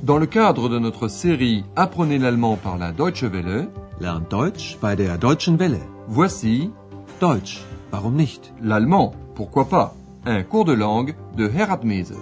Dans le cadre de notre série Apprenez l'allemand par la Deutsche Welle, Lernt Deutsch bei der Deutschen Welle. voici Deutsch, warum nicht? l'allemand, pourquoi pas, un cours de langue de Herat Mese.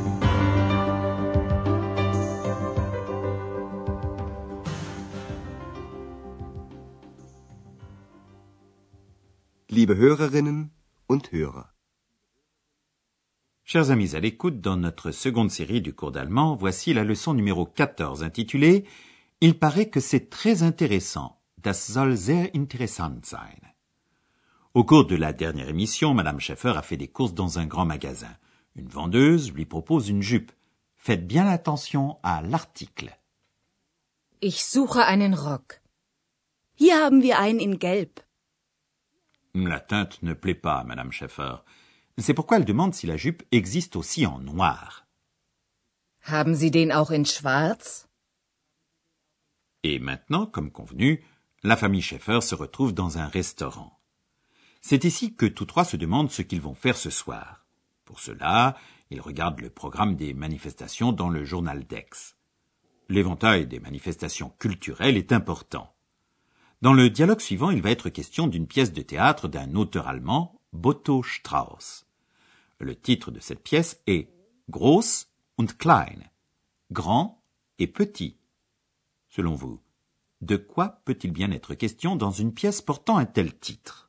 Liebe Hörerinnen und Hörer. Chers amis à l'écoute, dans notre seconde série du cours d'allemand, voici la leçon numéro 14 intitulée « Il paraît que c'est très intéressant. Das soll sehr interessant sein ». Au cours de la dernière émission, Madame Schäfer a fait des courses dans un grand magasin. Une vendeuse lui propose une jupe. Faites bien attention à l'article. Ich suche einen Rock. Hier haben wir einen in Gelb. La teinte ne plaît pas à Madame Schäfer. C'est pourquoi elle demande si la jupe existe aussi en noir. Haben Sie den auch in Schwarz? Et maintenant, comme convenu, la famille Schäfer se retrouve dans un restaurant. C'est ici que tous trois se demandent ce qu'ils vont faire ce soir. Pour cela, ils regardent le programme des manifestations dans le journal d'Aix. L'éventail des manifestations culturelles est important. Dans le dialogue suivant, il va être question d'une pièce de théâtre d'un auteur allemand, Botho Strauss. Le titre de cette pièce est Groß und Klein, grand et petit. Selon vous, de quoi peut-il bien être question dans une pièce portant un tel titre?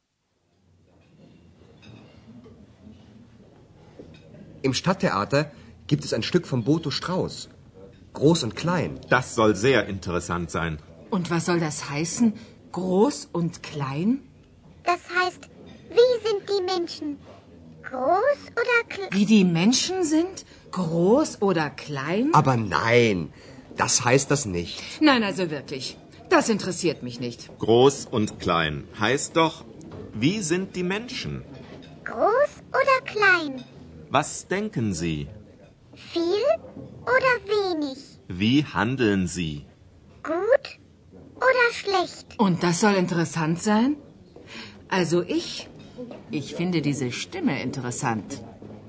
Im Stadttheater gibt es ein Stück von Botho Strauss. Groß und klein. Das soll sehr interessant sein. Und was soll das heißen? Groß und klein? Das heißt, wie sind die Menschen? Groß oder klein? Wie die Menschen sind? Groß oder klein? Aber nein, das heißt das nicht. Nein, also wirklich. Das interessiert mich nicht. Groß und klein heißt doch, wie sind die Menschen? Groß oder klein? Was denken Sie? Viel oder wenig? Wie handeln Sie? Gut oder schlecht? Und das soll interessant sein? Also ich finde diese Stimme interessant.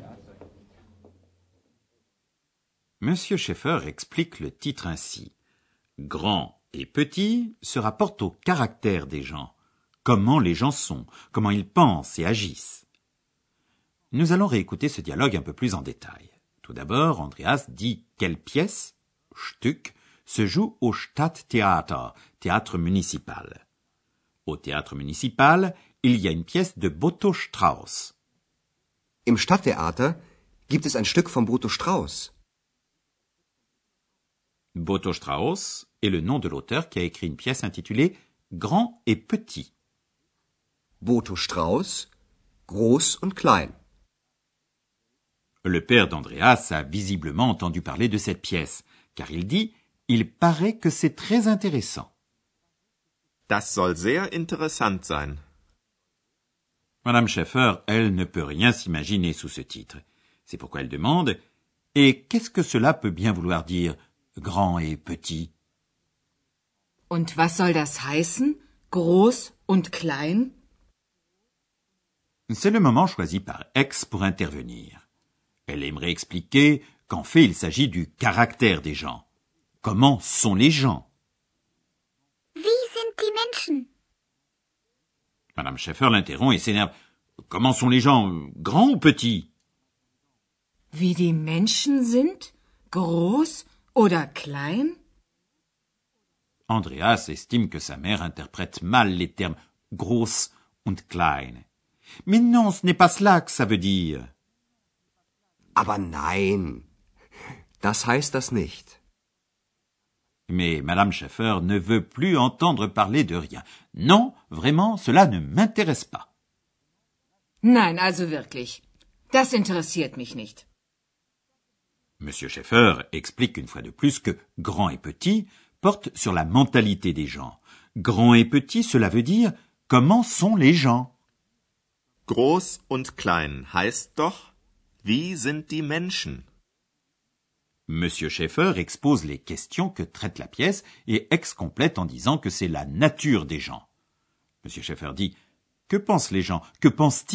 Monsieur Schäfer explique le titre ainsi. Grand et petit se rapportent au caractère des gens, comment les gens sont, comment ils pensent et agissent. Nous allons réécouter ce dialogue un peu plus en détail. Tout d'abord, Andreas dit quelle pièce, Stück, se joue au Stadttheater, théâtre municipal. Au théâtre municipal, il y a une pièce de Botho Strauss. Im Stadttheater gibt es ein Stück von Botho Strauss. Botho Strauss est le nom de l'auteur qui a écrit une pièce intitulée Grand et petit. Botho Strauss, Groß und Klein. Le père d'Andreas a visiblement entendu parler de cette pièce, car il dit « Il paraît que c'est très intéressant ». Das soll sehr interessant sein. Madame Schäfer, elle, ne peut rien s'imaginer sous ce titre. C'est pourquoi elle demande « Et qu'est-ce que cela peut bien vouloir dire, grand et petit ?» Und was soll das heißen? Groß und klein? C'est le moment choisi par Aix pour intervenir. Elle aimerait expliquer qu'en fait il s'agit du caractère des gens. Comment sont les gens? Wie sind die Menschen? Madame Schäfer l'interrompt et s'énerve. Comment sont les gens, grands ou petits? Wie die Menschen sind? Groß oder klein? Andreas estime que sa mère interprète mal les termes groß und klein. Mais non, ce n'est pas cela que ça veut dire. Aber nein, das heißt das nicht. Mais Madame Schäfer ne veut plus entendre parler de rien. Non, vraiment, cela ne m'intéresse pas. Nein, also wirklich. Das interessiert mich nicht. Monsieur Schäfer explique une fois de plus que grand et petit porte sur la mentalité des gens. Grand et petit, cela veut dire comment sont les gens. Groß und klein heißt doch, wie sind die Menschen? Monsieur Schäfer expose les questions que traite la pièce et Aix complète en disant que c'est la nature des gens. Monsieur Schäfer dit « Que pensent les gens? Que pensent-ils »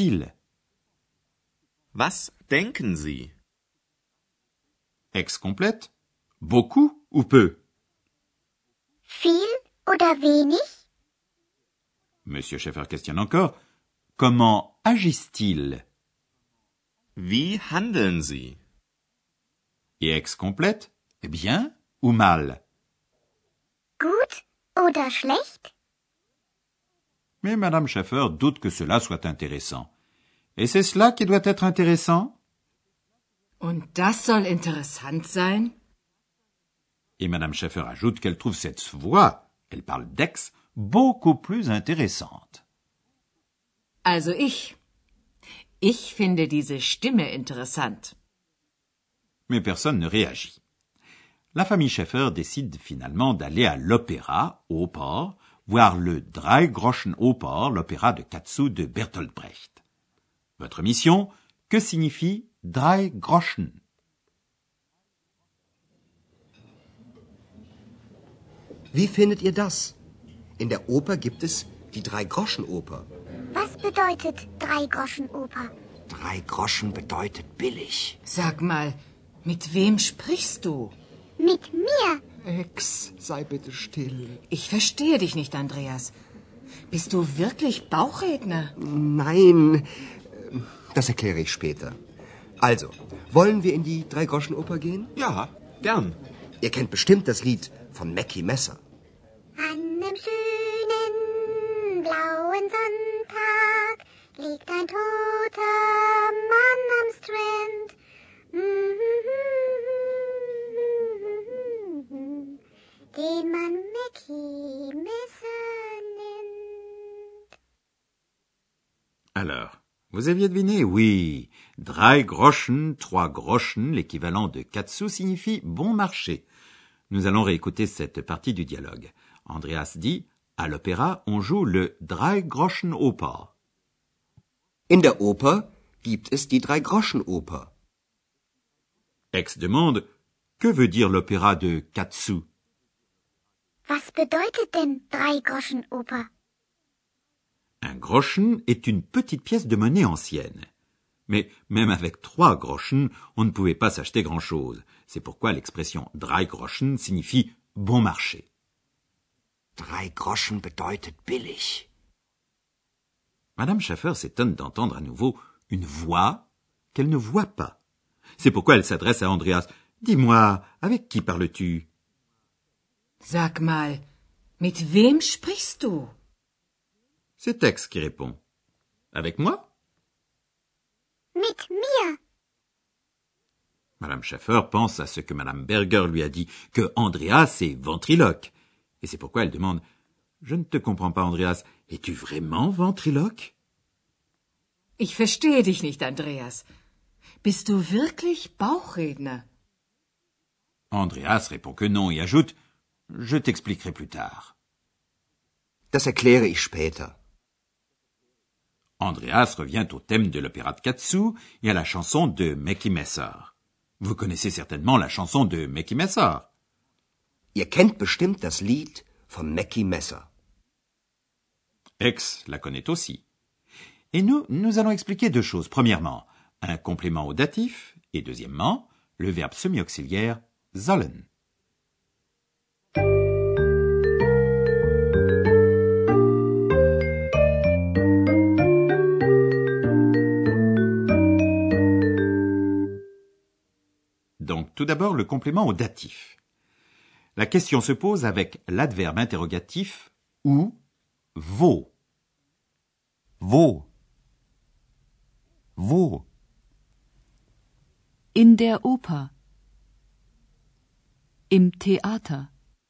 Was denken Sie? Aix complète « Beaucoup ou peu? Viel oder wenig? Monsieur Schäfer questionne encore. Comment agissent-ils? Wie handeln Sie? Et Ex complète. Bien ou mal? Gut oder schlecht? Mais Madame Schäfer doute que cela soit intéressant. Et c'est cela qui doit être intéressant? Und das soll interessant sein? Et Madame Schäfer ajoute qu'elle trouve cette voix, elle parle d'Ex, beaucoup plus intéressante. Also ich finde diese Stimme interessant. Mais personne ne réagit. La famille Schäfer décide finalement d'aller à l'opéra, au port, voir le Dreigroschenoper, l'opéra de Katsu de Bertolt Brecht. Votre mission, que signifie Dreigroschen? Wie findet ihr das? In der Oper gibt es die Dreigroschenoper. Was bedeutet Dreigroschenoper? 3 Groschen bedeutet billig. Sag mal, mit wem sprichst du? Mit mir. Ex, sei bitte still. Ich verstehe dich nicht, Andreas. Bist du wirklich Bauchredner? Nein, das erkläre ich später. Also, wollen wir in die Dreigroschenoper gehen? Ja, gern. Ihr kennt bestimmt das Lied von Mackie Messer. An einem schönen blauen Sonntag liegt ein toter Mann am Strand. Den man Mackie Messer nennt. Alors, vous aviez deviné? Oui. Dreigroschen, 3 groschen, l'équivalent de Katsu, signifie bon marché. Nous allons réécouter cette partie du dialogue. Andreas dit, à l'opéra, on joue le Dreigroschenoper. In der Oper gibt es die Dreigroschenoper. Ex demande, que veut dire l'opéra de Katsu? Was bedeutet denn Dreigroschenoper? Un groschen est une petite pièce de monnaie ancienne. Mais même avec 3 groschen, on ne pouvait pas s'acheter grand-chose. C'est pourquoi l'expression Dreigroschen signifie bon marché. 3 Groschen bedeutet billig. Madame Schäfer s'étonne d'entendre à nouveau une voix qu'elle ne voit pas. C'est pourquoi elle s'adresse à Andreas. Dis-moi, avec qui parles-tu? Sag mal, mit wem sprichst du? C'est Ex qui répond. Avec moi? Mit mir. Madame Schäfer pense à ce que Madame Berger lui a dit, que Andreas est ventriloque. Et c'est pourquoi elle demande, je ne te comprends pas, Andreas, es-tu vraiment ventriloque? Ich verstehe dich nicht, Andreas. Bist du wirklich Bauchredner? Andreas répond que non et ajoute, je t'expliquerai plus tard. Das erkläre ich später. Andreas revient au thème de l'opéra de Katsu et à la chanson de Mackie Messer. Vous connaissez certainement la chanson de Mackie Messer. Ihr kennt bestimmt das Lied von Mackie Messer. Ex la connaît aussi. Et nous allons expliquer 2 choses. Premièrement, un complément au datif et deuxièmement, le verbe semi-auxiliaire sollen. Donc, tout d'abord, le complément au datif. La question se pose avec l'adverbe interrogatif ou wo. Wo? Wo? In der Oper. Im Theater.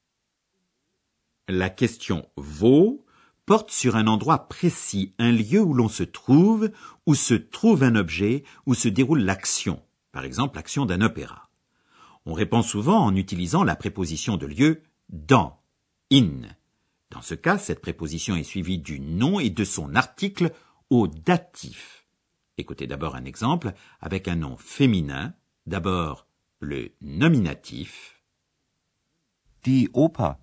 La question wo porte sur un endroit précis, un lieu où l'on se trouve un objet, où se déroule l'action. Par exemple, l'action d'un opéra. On répond souvent en utilisant la préposition de lieu dans, in. Dans ce cas, cette préposition est suivie du nom et de son article au datif. Écoutez d'abord un exemple avec un nom féminin. D'abord, le nominatif. Die Oper.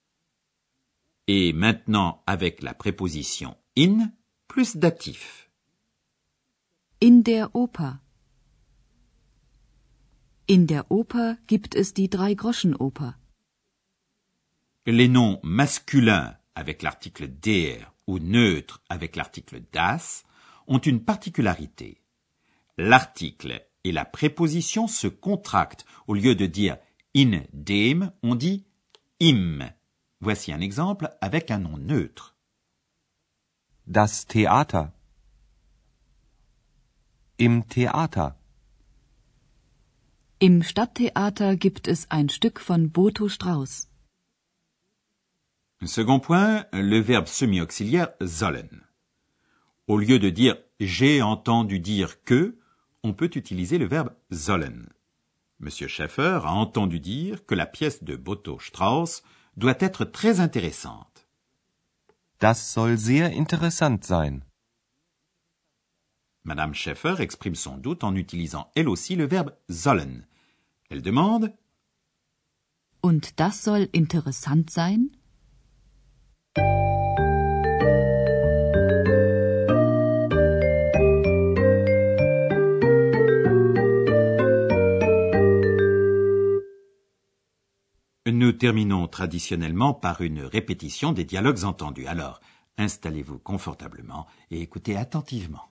Et maintenant, avec la préposition in plus datif. In der Oper. In der Oper gibt es die Dreigroschenoper. Les noms masculins avec l'article der ou neutres avec l'article das ont une particularité. L'article et la préposition se contractent. Au lieu de dire in dem, on dit im. Voici un exemple avec un nom neutre. Das Theater. Im Theater. Im Stadttheater gibt es ein Stück von Boto Strauß. Second point, le verbe semi-auxiliaire sollen. Au lieu de dire j'ai entendu dire que, on peut utiliser le verbe sollen. Monsieur Schaeffer a entendu dire que la pièce de Boto Strauß doit être très intéressante. Das soll sehr interessant sein. Madame Schaeffer exprime son doute en utilisant elle aussi le verbe sollen. Elle demande Und das soll interessant sein? Nous terminons traditionnellement par une répétition des dialogues entendus. Alors, installez-vous confortablement et écoutez attentivement.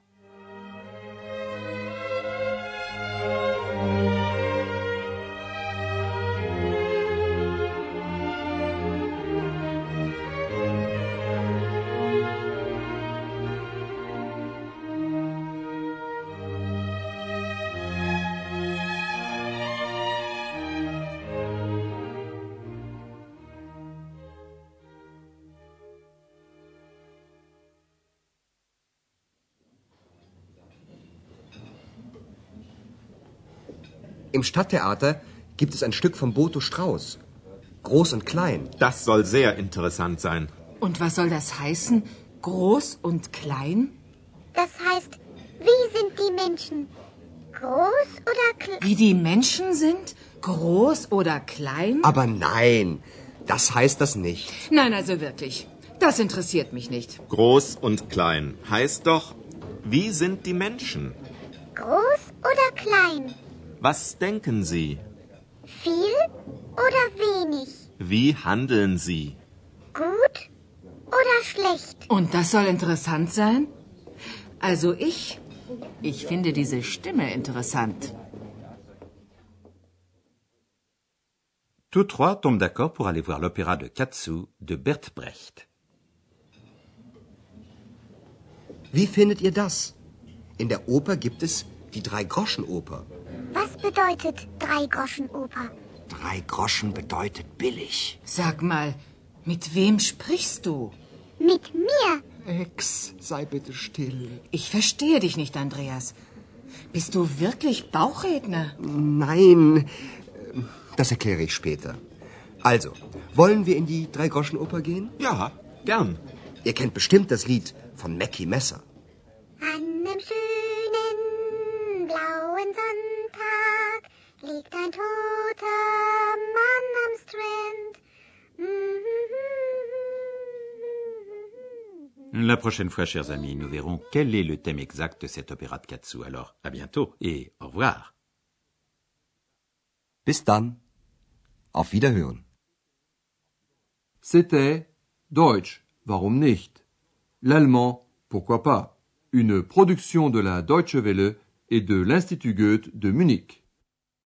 Im Stadttheater gibt es ein Stück von Boto Strauß. Groß und klein. Das soll sehr interessant sein. Und was soll das heißen? Groß und klein? Das heißt, wie sind die Menschen? Groß oder klein? Wie die Menschen sind? Groß oder klein? Aber nein, das heißt das nicht. Nein, also wirklich. Das interessiert mich nicht. Groß und klein heißt doch, wie sind die Menschen? Groß oder klein? Was denken Sie? Viel oder wenig? Wie handeln Sie? Gut oder schlecht? Und das soll interessant sein? Also ich finde diese Stimme interessant. Tous trois tombent d'accord pour aller voir l'opéra de Katsu de Bert Brecht. Wie findet ihr das? In der Oper gibt es die Drei-Groschen-Oper. Was bedeutet Drei-Groschen-Oper? 3 Groschen bedeutet billig. Sag mal, mit wem sprichst du? Mit mir? Ex, sei bitte still. Ich verstehe dich nicht, Andreas. Bist du wirklich Bauchredner? Nein, das erkläre ich später. Also, wollen wir in die Drei-Groschen-Oper gehen? Ja, gern. Ihr kennt bestimmt das Lied von Mackie Messer. An einem schönen blauen Sonntag liegt ein toter Mann am Strand. La prochaine fois, chers amis, nous verrons quel est le thème exact de cet opéra de Katsu. Alors, à bientôt et au revoir. Bis dann. Auf Wiederhören. C'était Deutsch, warum nicht? L'allemand, pourquoi pas? Une production de la Deutsche Welle et de l'Institut Goethe de Munich.